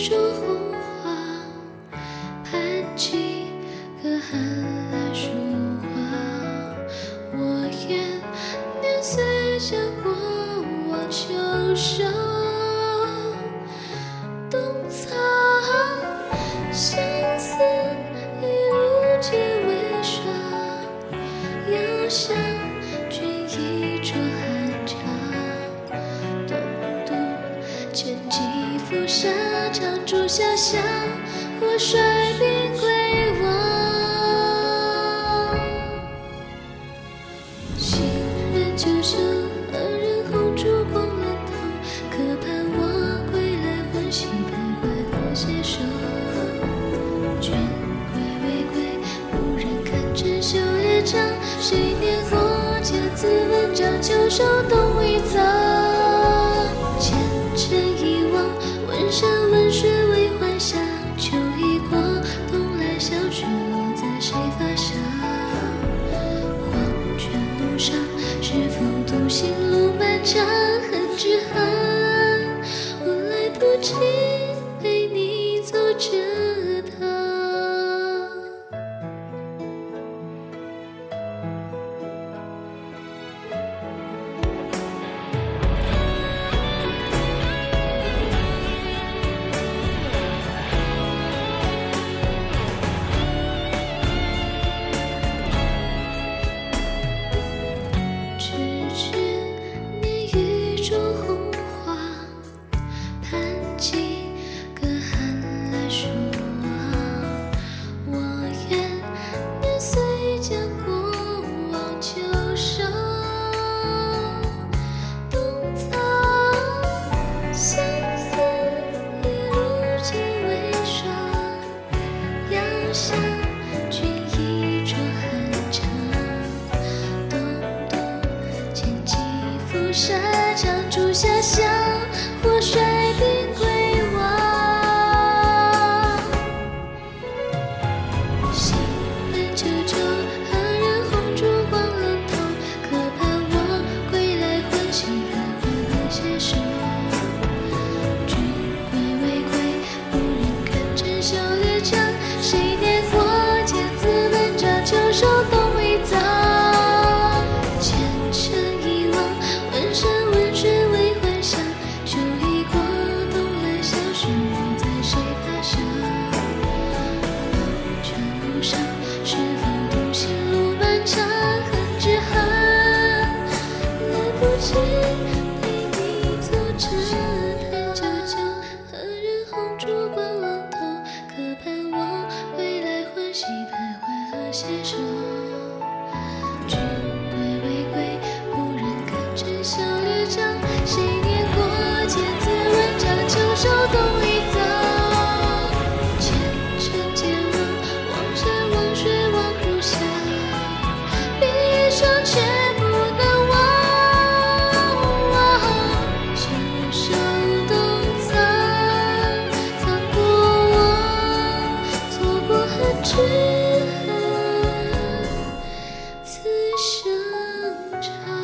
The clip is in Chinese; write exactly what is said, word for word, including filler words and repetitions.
树红花，盘几个寒来树花。我愿年岁将过往秋收，冬草相思一路皆为霜。遥想君一桌寒茶，东渡千骑浮沙，长竹萧响，或率兵归往。行人九州，何人红烛光冷透？可盼我归来，欢喜徘徊和携手。君归未归，无人看针绣列张。谁念过千字文章，秋收冬已早。前尘遗忘，问山问水为幻想。秋已过，冬来小雪落在谁发上？黄泉路上，是否独行路漫长？恨只恨我来不及陪你走这趟。想君一桌寒茶，东渡千骑浮沙，长竹萧响，或率兵归往。行人九州，何人红烛光冷透？可盼我归来，欢喜徘徊和携手。君归未归，无人看针绣列张。谁念过千字文章，秋收冬已早。前尘遗忘，问山问水为幻想。秋已过，冬来小雪落在谁发上？黄泉路上，是否独行路漫长？恨只恨来不及陪你走这趟。九九，何人红烛光冷透？可盼我归来，欢喜徘徊和携手。君归未归，无人看针绣列张。谁念过千字文章，秋收冬已早。前尘皆忘，望山望水望不下，闭一双却不能忘。秋收冬藏，藏过往，错过恨只恨此生长。